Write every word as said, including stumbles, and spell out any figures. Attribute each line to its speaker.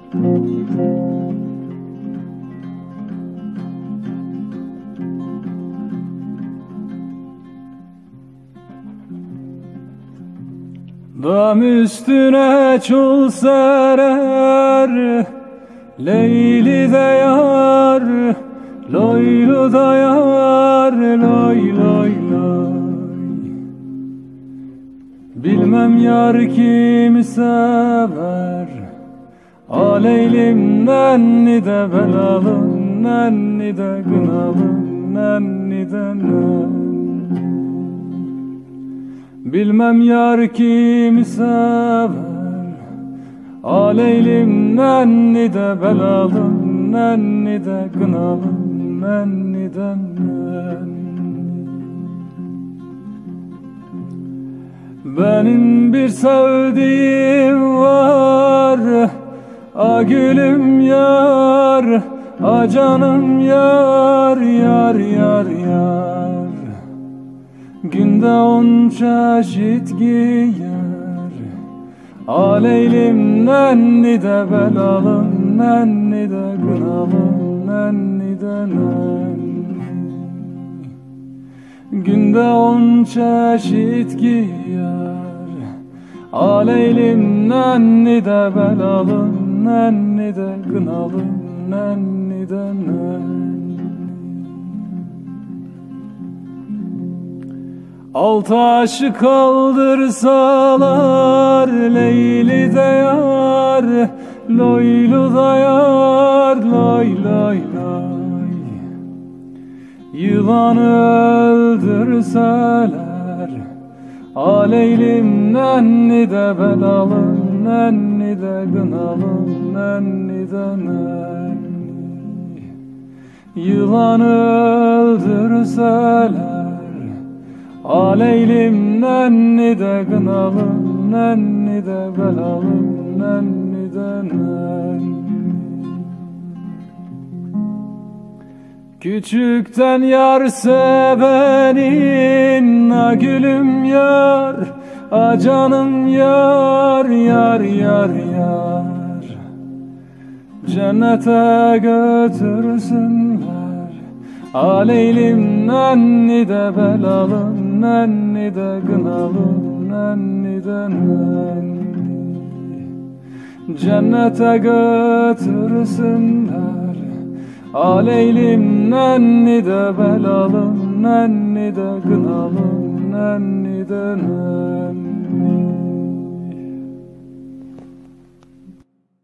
Speaker 1: Dam üstüne çul serer, Leyli de yar, loylu da yar, loy loy loy. Bilmem yar kimi sever, aleylim nenni de belalım, nenni de gınalım, nenni de nenni. Bilmem yar kimi sever, aleylim nenni de belalım, nenni de gınalım, nenni de nenni. Benim bir sevdiğim var, a gülüm yar, a canım yar, yar yar yar. Günde on çeşit giyer, aleylim nenni de belalım, nenni de gınalım, nenni de nenni. Günde on çeşit giyer, aleylim nenni de belalım, nenni de gınalım, nenni de nenni. Altı aşı kaldırsalar, Leyli de yar, loylu da yar, loy loy loy. Yılanı öldürseler, aleylim nenni de belalım, nenni de gınalım, nenni de nenni. Yılanı öldürseler, aleylim nenni de gınalım, nenni de belalım, nenni de nenni. Küçükten yar sevenin, a gülüm yar, a canım yar, yar yar yar. Cennete götürsünler, aleylim nenni de belalım, nenni de gınalım, nenni de nenni. Cennete götürsünler, aleylim nenni de belalım, nenni de gınalım, nenni de nenni.